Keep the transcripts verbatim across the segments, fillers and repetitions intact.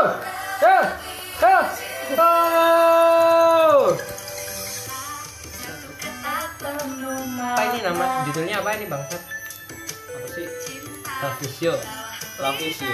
Oh, oh, oh, oh. Apa ini nama judulnya apa ini bangsat? Apa sih? Love is you. Love is you.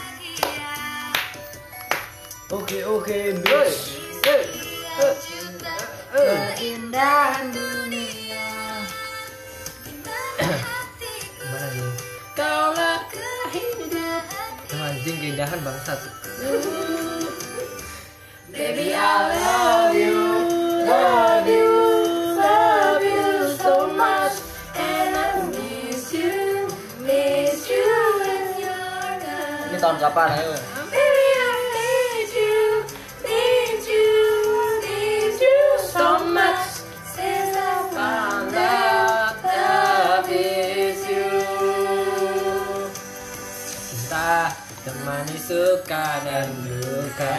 Oke oke, guys. Eh, eh, eh. Keindahan dunia. Gimana nih? Kaulah kehidupan. Oh, anjing keindahan bangsat. Baby, I love you, love you, love you so much, and I miss you, miss you when you're gone. Ini tahun kapan ayo? Baby, I need you, need you, need you so much, since I found out love is you. Cinta temani suka dan duka.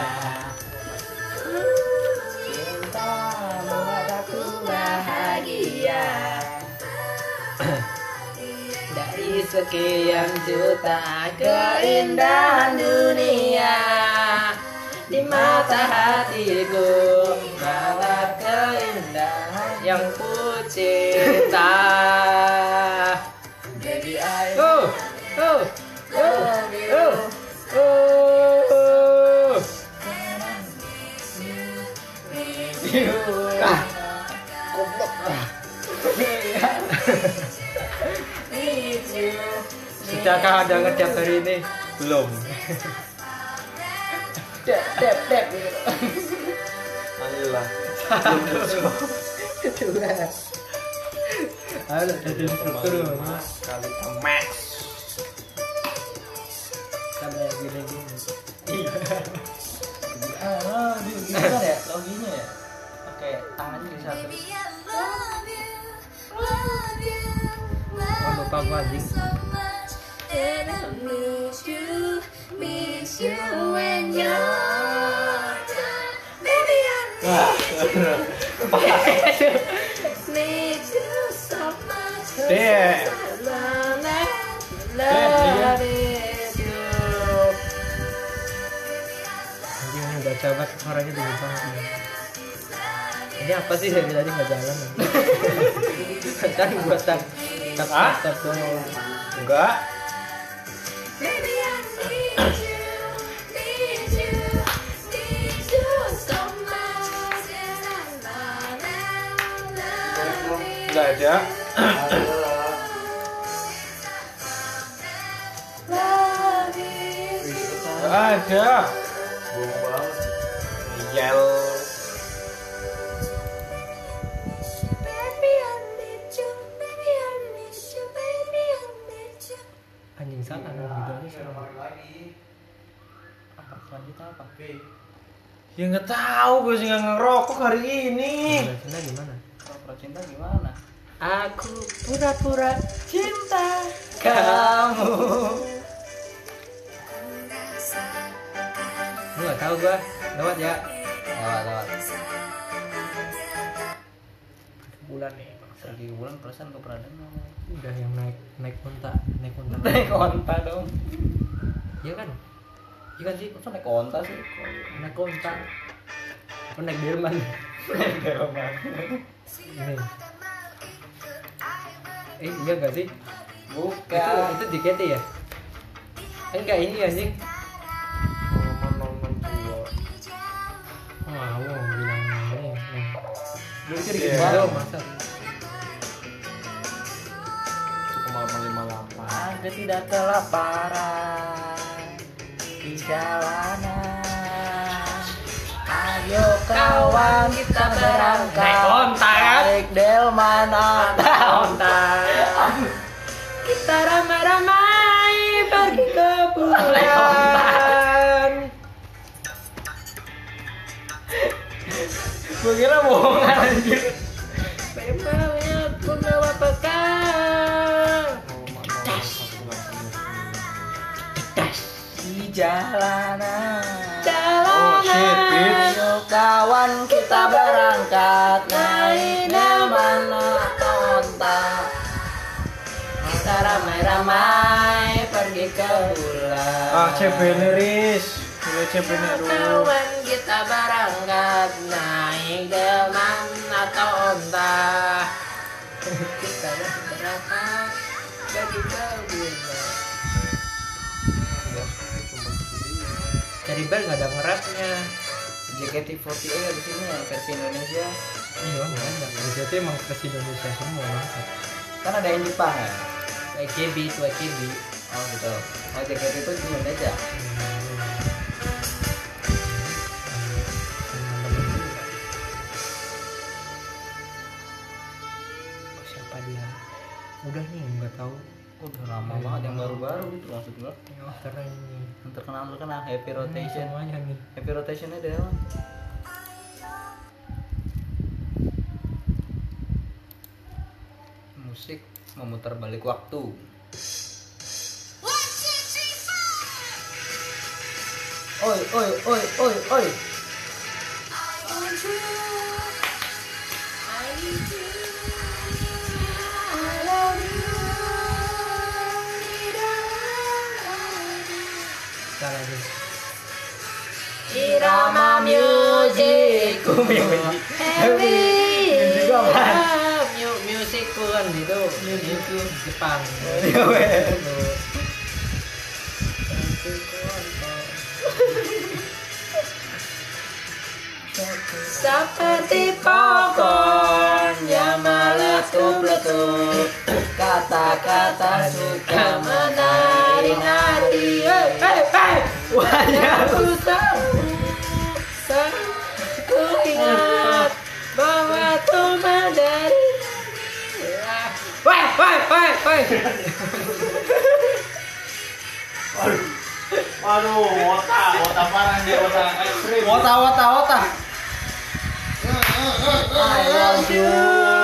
Cinta membuat aku bahagia. Dari sekian juta keindahan dunia, di mata hatiku bawa keindahan yang ku cinta. Baby, I Oh, oh, love you. oh, oh. Ah, goblok. Need you. Sudahkah Anda ngedap hari ini? Belum. Dep, dep, dep. Alhamdulillah. Kedua. Halo, jadi instruktur Kali max. kayak gini-gini. Iya. Ah, gimana ya? Loginya ya? Oke, tangannya di satu. Oh, lupa gua anjing. And I miss you, miss you when you're gone. Baby, I need you so much. Dek. Love is you. Anjing ini udah coba suaranya tinggi banget. Ini apa sih dari tadi nggak jalan? Kan buat tak tak Ah? tak doang. Enggak. Baby, I need you, need you, need you so much. And I love and love you. Enggak ada. Love is you. Enggak ada. Bohong banget. Yel. Baby, I need you, baby, I need you, baby, I need you. Anjing salah gitu aja sama. Apa selanjutnya apa? Ya nggak tahu, gue sih nggak ngerokok hari ini. Cinta gimana? Pura-pura cinta gimana? Aku pura-pura cinta Kamu. Lu nggak tahu gua lewat ya Lewat lewat. bulan nih. Sergi bulan perasaan gue pernah dengar. Udah yang naik naik konta naik konta Naik onta dong. iya kan iya kan sih Kok naik onta sih? naik konta apa naik delman Naik delman. ini eh iya gak sih itu Bukan. itu J K T ya enggak ini anjing Momen-momen tua. wah wow bilang ini nih Dulu jadi Iya, gimana? masa Cukup malam lima delapan. Aku tidak kelaparan di jalanan. Ayo kawan kita berangkat. Naik onta, kan? Naik delman atau onta kita ramai-ramai pergi ke Naik onta. bulan. Gue kira bohongan anjir. Memangnya aku bawa bekal di jalanan. Oh shit, bitch. Ayo kawan kita berangkat naik delman atau onta. Kita ramai-ramai pergi ke bulan. Ah, C B liris. W C bener dulu. Kawan kita berangkat naik delman atau onta. Kita berangkat jadi kebuna. Cari bel nggak ada ngerapnya. J K T empat delapan di sini yang versi Indonesia. Iya nggak ada. Jadi emang versi Indonesia semua. Kan ada yang Jepang ya. A K B itu A K B. Oh gitu. Oh J K T itu di Indonesia. Siapa dia? Udah nih nggak tahu. Udah lama banget yang baru-baru gitu maksud gua. Oh, keren nih. Yang terkenal terkenal Happy Hmm, Rotation. semuanya nih. Happy Rotationnya dari mana? Musik memutar balik waktu. Oi oi oi oi oi. Salah nih. Irama music heavy Mu- musikku kan gitu. Musikku Jepang. seperti popcorn yang meletup-letup, kata-kata suka menarik hati. Hey, hey, hey. Aku tahu, ku ingat bahwa Tuhan dari. Woi, woi, woi, woi. Waduh, wota, wota parah nih, wota ekstrim. Wota wota wota. I love you.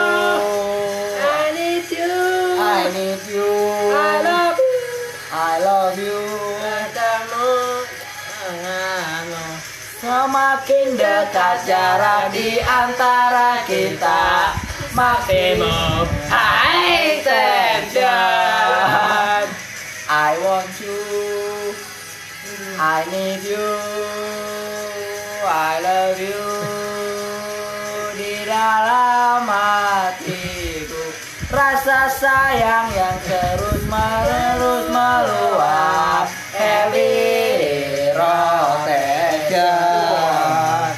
I need you. I need you. I love you. I love you. Katamu, Semakin dekat jarak di antara kita, makin high tension. I want you. I need you. I love you. Di dalam hatiku, rasa sayang yang terus menerus meluap. Heavy rotation.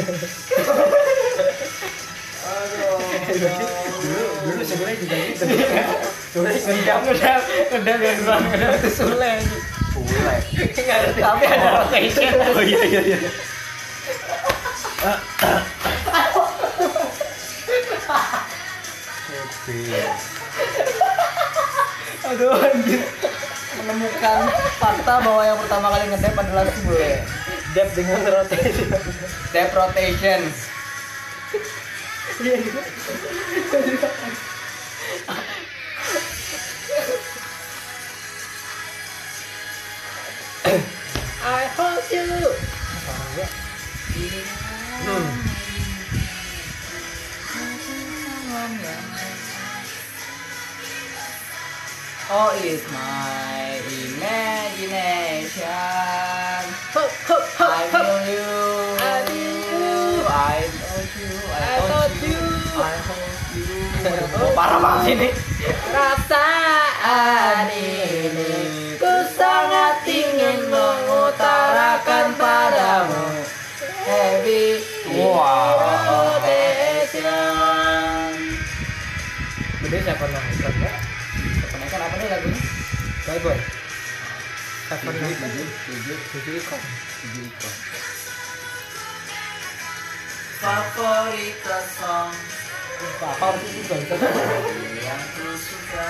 Dulu dulu sebenarnya juga gitu. Sebenarnya ngedam ngedam ngedam yang bang ngedam itu Sule. Boleh. Nggak ngerti tapi ada rotation. Oh iya iya iya. Aduh anjir. Menemukan fakta bahwa yang pertama kali ngedep adalah Sule. Dep dengan rotation. Dep rotation. I hold you. Hmm. Oh, it's my imagination. Hup, hup, hup, I hup. feel you. I feel you. I told you. I I told told you. you. I hold you. Oh, parah banget ini. Perasaan ini ku sangat ingin mengutarakan padamu. Heavy rotation. Beda siapa nonton ya? Kepenaikan apa nih lagunya? Boy boy. Siapa Tujuh, nonton? tujuh, tujuh, Tujuh ikon. tujuh ikon. Favorit song Apa harus itu kan? yang ku suka.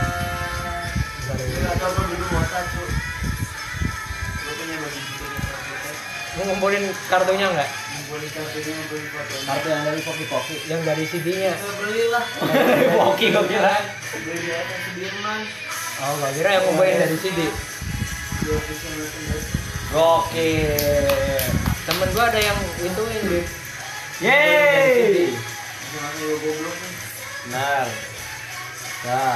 Kita coba dulu wota cu. Lu punya bagi gitu nih. Mau ngumpulin kartunya nggak? Boleh kartunya boleh foto. Kartu yang dari Poki Poki. Yang dari C D-nya. Kita belilah. Poki gue kira. Beli di atas Sudirman. Oh, gue kira yang ngumpulin dari C D. Di official merchandise. Gokil. Temen gue ada yang ituin gitu. Yeay. Jangan lu goblok nih. Benar. Ya.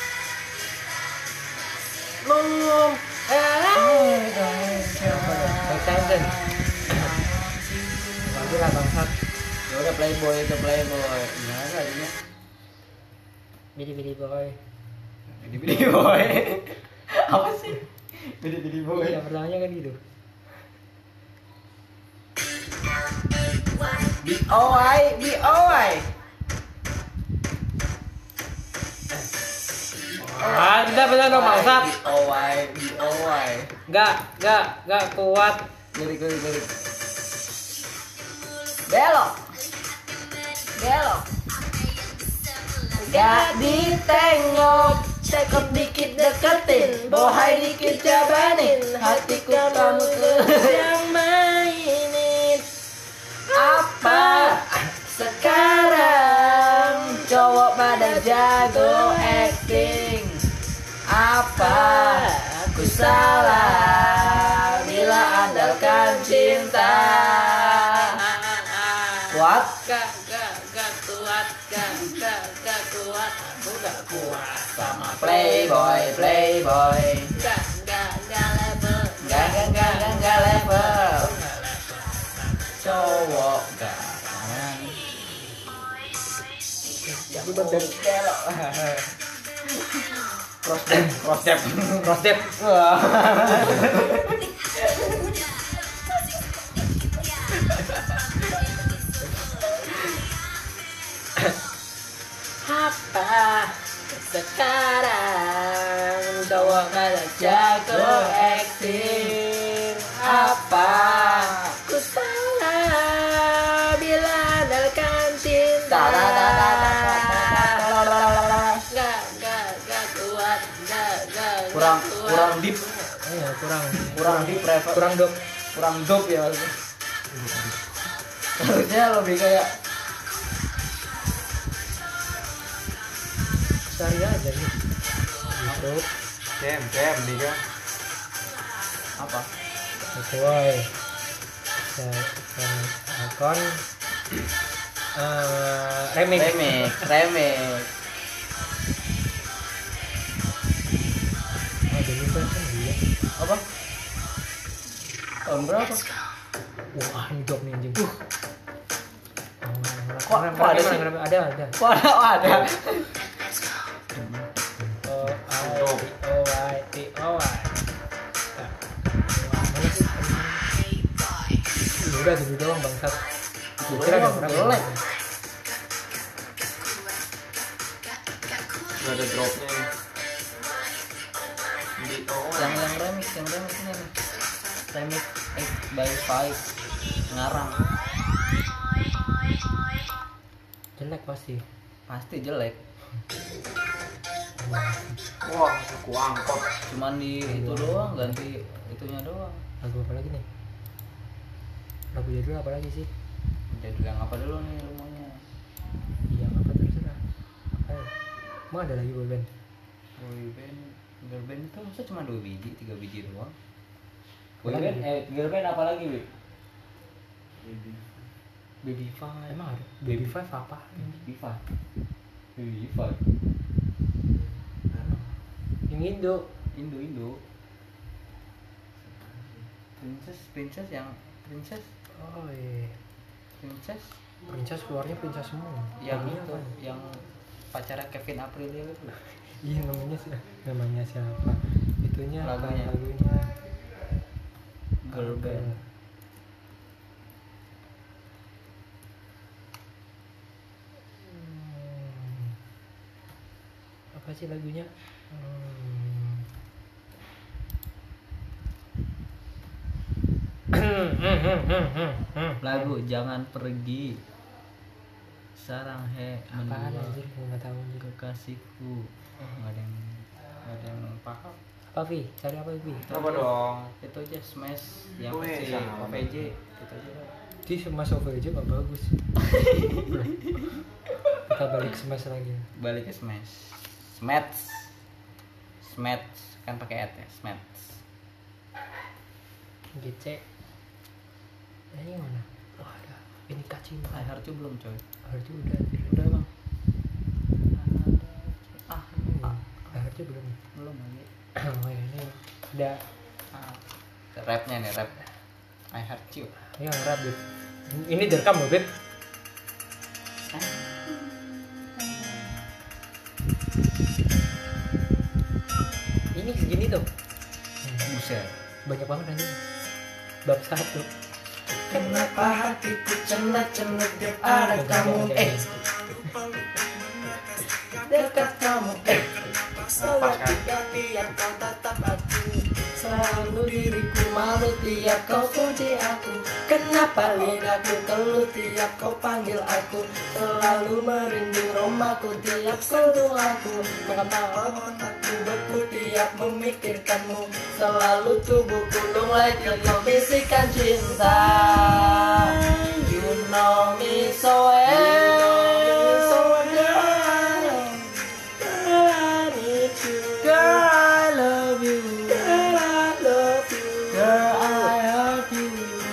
Mengum. Eh. Siapa dah? Sen. Lagi lah bangsat. Ya udah playboy itu playboy. Gimana lagunya? Bidi-bidi boy. Bidi bidi boy. Apa sih? Bidi bidi boy. Iya, pertamanya kan gitu. B O I B O I. Ah, kita benar dong bangsat. B O I B O I. Enggak, enggak, enggak kuat. Lirik lirik lirik. Belok. Belok. Gak ditengok, cekok dikit deketin, bohai dikit jabanin, hatiku kamu terus yang mainin. Apa sekarang cowok pada jago acting? Apa aku salah bila andalkan cinta? Kuat? Gak, gak, gak kuat, gak, gak, gak kuat. Aku gak kuat sama Playboy, playboy. Gak, gak, gak level. Gak, gak, gak, gak, gak level. Cowok garangan. Jadi betul belok. Cross step, cross step, Cross step. wah. Apa sekarang cowok pada Jago acting. Apa Ku salah bila andalkan cinta. Gak, gak, gak kuat, gak, gak, gak kurang kuat. kurang deep, Iya, kurang. kurang deep refer, Kurang dok. kurang dope ya maksudnya. Harusnya lebih kayak Cari aja nih. Gitu. Kem, kem, Diga. apa? Sesuai. Dan akun eh remix. Remix, remix. Oh, jadi kan dia. Apa? Tahun berapa? Wah, ini job nih anjing. Uh. Kok- kok ada sih? Ada, ada. Kok ada? Oh, ada. O I T O Y T O Y. Udah gitu doang bangsat. Gitu Kira doang, ada jelek. Gak ada dropnya nih. Di oh, Yang yang remix, yang remix ini nih. Remix X by Five ngarang. Jelek pasti. Pasti jelek. wah, aku angkot. Cuman di itu doang, ganti itunya doang. Lagu apa lagi nih? Lagu jadul apa lagi sih? Jadi yang apa dulu nih rumahnya? Iya, apa terserah. Apa ya? Emang ada lagi boy band? Boy band, girl band itu masa cuma dua biji, tiga biji doang. Apa Boy lagi? band, eh girl band apa lagi, Wi? Baby Five. Emang ada? Baby Five apa? Baby Five. Baby Five. Yang Indo. Indo Indo. Princess, princess yang princess, Oh iya. princess Princess keluarnya princess semua. yang Lagunya itu, apa? yang pacarnya Kevin Aprilio itu. Iya namanya sih. Namanya siapa? Itunya apa Lagunya. lagunya? Girl Apa? band. Hmm. Apa sih lagunya? Hmm. Lagu Jangan Pergi. Sarang he Apaan mendua anjir? Gue nggak tahu anjir. kekasihku. Oh, nggak ada yang nggak ada yang paham. Apa Vi? Cari apa Vi? Coba dong. Itu aja Smash yang Wih, versi sama. O V J itu aja. Di Smash O V J nggak bagus. Kita balik Smash lagi. Balik ke Smash. Smash. Smash kan pakai et ya, Smash. G C. Nah, ini mana? Wah ada. Ini kacimata. I Heart You belum coy. Harus udah. anjir. Udah bang. Ah, ah, Harus belum. belum lagi. Oh ya, ini ada Ah. Rapnya nih rap. I heart you. Ya rap Beb. Ini direkam loh Beb. Ini segini tuh. Buset. Banyak banget anjing. Bab satu. Kenapa hatiku cenat-cenut tiap ada kamu eh dekat kamu eh selalu tiap kau tatap aku selalu diriku malu tiap kau puji aku kenapa lidahku keluh tiap kau panggil aku selalu merinding romaku tiap sentuh aku mengapa otakku beku tiap memikirkanmu selalu tubuhku lunglai tiap bisikan cinta you know me so well girl I love you girl I love you girl I love you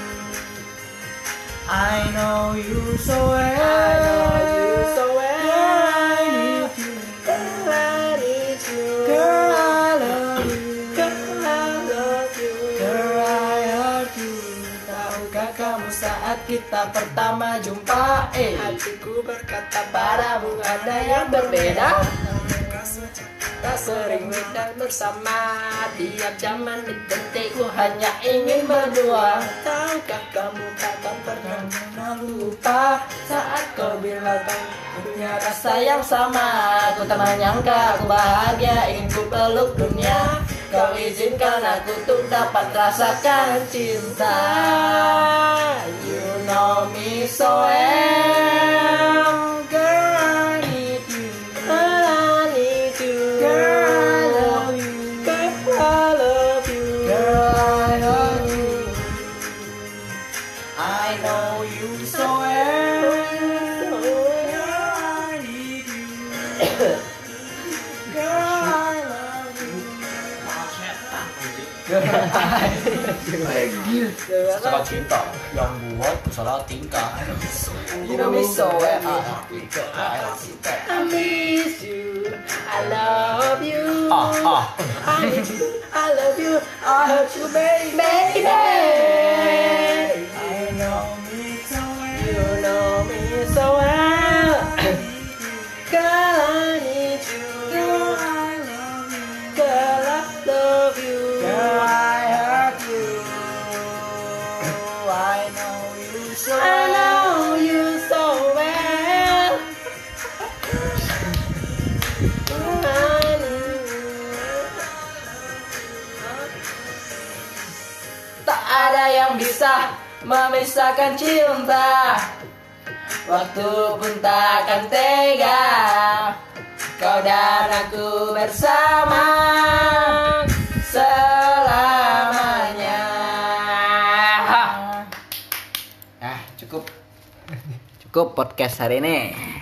I know you so well I know you so well girl I need you girl I need you girl I love you girl I love you girl I love you tahukah kamu saat kita pertama jumpa eh hatiku berkata padamu ada yang berbeda tak sering dan bersama tiap zaman di detikku hanya ingin berdua tahukah kamu takkan pernah lupa saat kau bilang kau punya rasa yang sama aku tak menyangka aku bahagia ingin ku peluk dunia kau izinkan aku untuk dapat rasakan cinta you know me so well girl I need you girl I need you girl I love you girl I love you girl I love you I know you so well girl I need you girl I love you Salah cinta yang buat salah tingkah. You know me so well I miss you I love you Ah ah. I miss you I love you I hurt you baby baby I know me so well you know me so well girl I need you girl I love you girl I love you girl I hurt you I know you so well I know you so well tak ada yang bisa memisahkan cinta waktu pun takkan tega kau dan aku bersama selamanya Ah, cukup. Cukup podcast hari ini.